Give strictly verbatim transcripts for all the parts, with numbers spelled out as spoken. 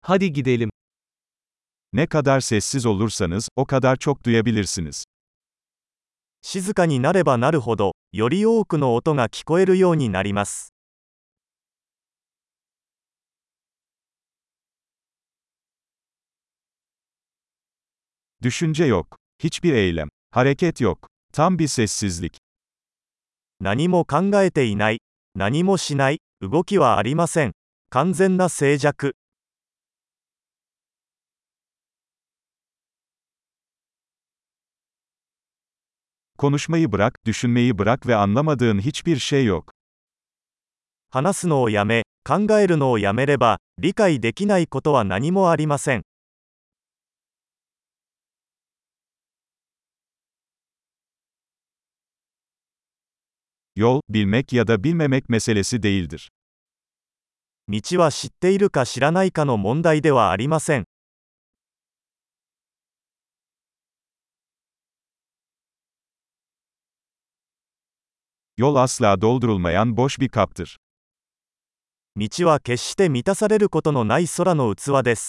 Hadi gidelim. Ne kadar sessiz olursanız, o kadar çok duyabilirsiniz. 静かになればなるほど、より多くの音が聞こえるようになります。 Düşünce yok. Hiçbir eylem. Hareket yok. Tam bir sessizlik. 何も考えていない。何もしない。動きはありません。完全な静寂。 Konuşmayı bırak, düşünmeyi bırak ve anlamadığın hiçbir şey yok. 話すのをやめ、考えるのをやめれば、理解できないことは何もありません。 Yol, bilmek ya da bilmemek meselesi değildir. 道は知っているか知らないかの問題ではありません。 Yol asla doldurulmayan boş bir kaptır. 道は決して満たされることのない空の器です。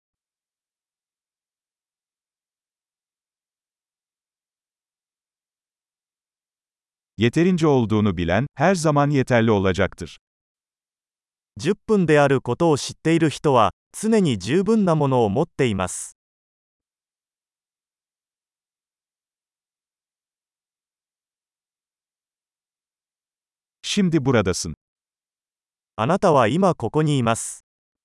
Yeterince olduğunu bilen, her zaman yeterli olacaktır. じゅっぷんであることを知っている人は、常に十分なものを持っています。 Şimdi buradasın. あなたは今ここにいます。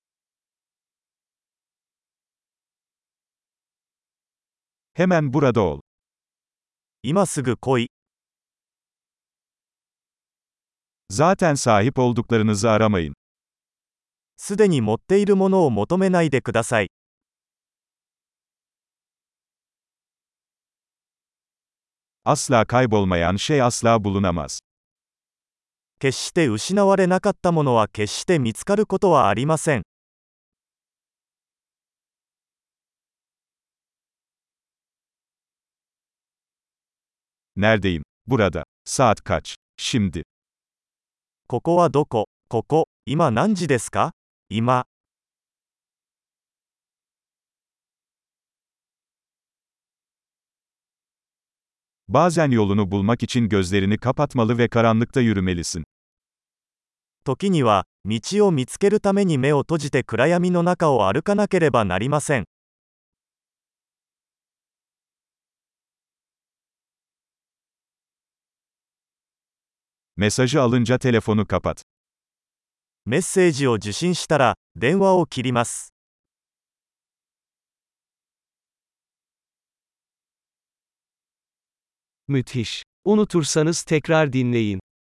Hemen burada ol. 今すぐ来い。 Zaten sahip olduklarınızı aramayın. すでに持っているものを求めないでください。 Asla kaybolmayan şey asla bulunamaz. 決して失われなかったものは決して見つかることはありません。 Neredeyim? Burada. Saat kaç? Şimdi. ここはどこ？ここ、今何時ですか？今。 Bazen yolunu bulmak için gözlerini kapatmalı ve karanlıkta yürümelisin. 時には、道を見つけるために目を閉じて暗闇の中を歩かなければなりません。 Mesajı alınca telefonu kapat. メッセージを受信したら、電話を切ります。 Müthiş. Unutursanız tekrar dinleyin.